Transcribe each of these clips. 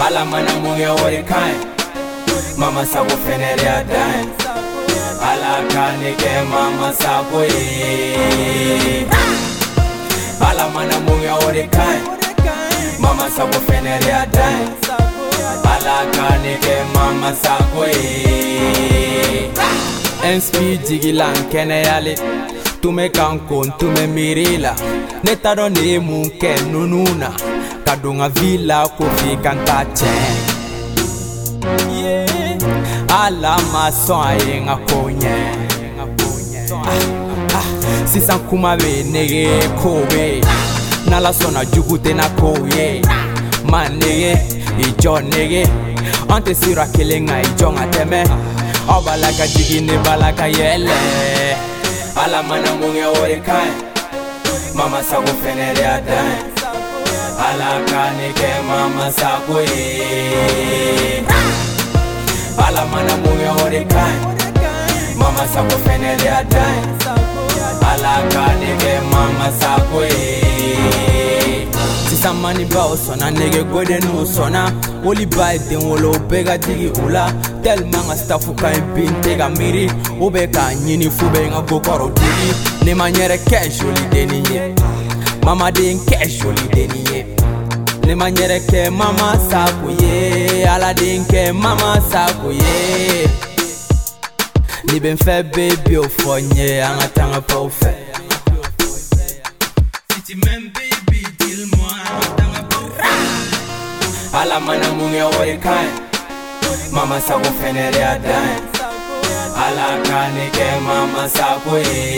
Ala mana munge ori kai Mama sako fenere adai Ala kanike mama sako Ala mana munge ori kai Mama sako fenere adai Ala kanike mama sako NSP jigilan kene yale Tume kankon tume mirila Netaro ne munke nununa Kadunga villa kofi kanta chen Ala mason aye nga konye Sisan kuma be nege kowe Nala sona jugute na kowe Man nege, ijo nege Ante sira kele nga ijo nga teme Obalaka jigine balaka yele Ala mana munge ore kai Mama sako fenere adai Ala kanike mama sako Ala mana munge ore kai Mama sako fenere adai Ala kanike mama sako Sisa mani ba osona nege gode no sona Oli ba den wolo bega digi ula Tellement nga staffu ka binte ga miri Obe ka nyini fube nga gokoro digi Ne maniere ke joli deniye Mama den ke joli deniye Ne maniere ke mama sako ye Ala den ke mama sako ye Ni ben fe baby o fonye Anga tanga pa o fe Si ti men baby dis-moi Anga tanga pa o fe Ala mana munge ore kai Mama sako fenere adai Ala kanike mama sako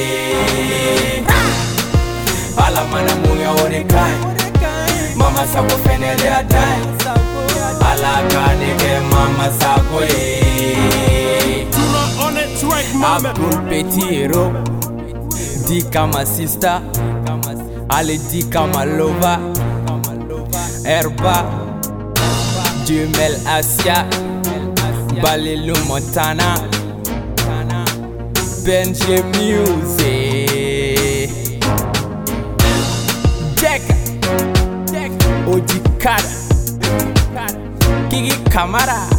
Ala mana munge ore kai Mama sako fenere adai Ala kanike mama sako Abdul Petiro Di kama sister Ale di kama lover Herba Jumel Asia Balelu Montana Benji Music Jack Oji Kada Kiki Kamara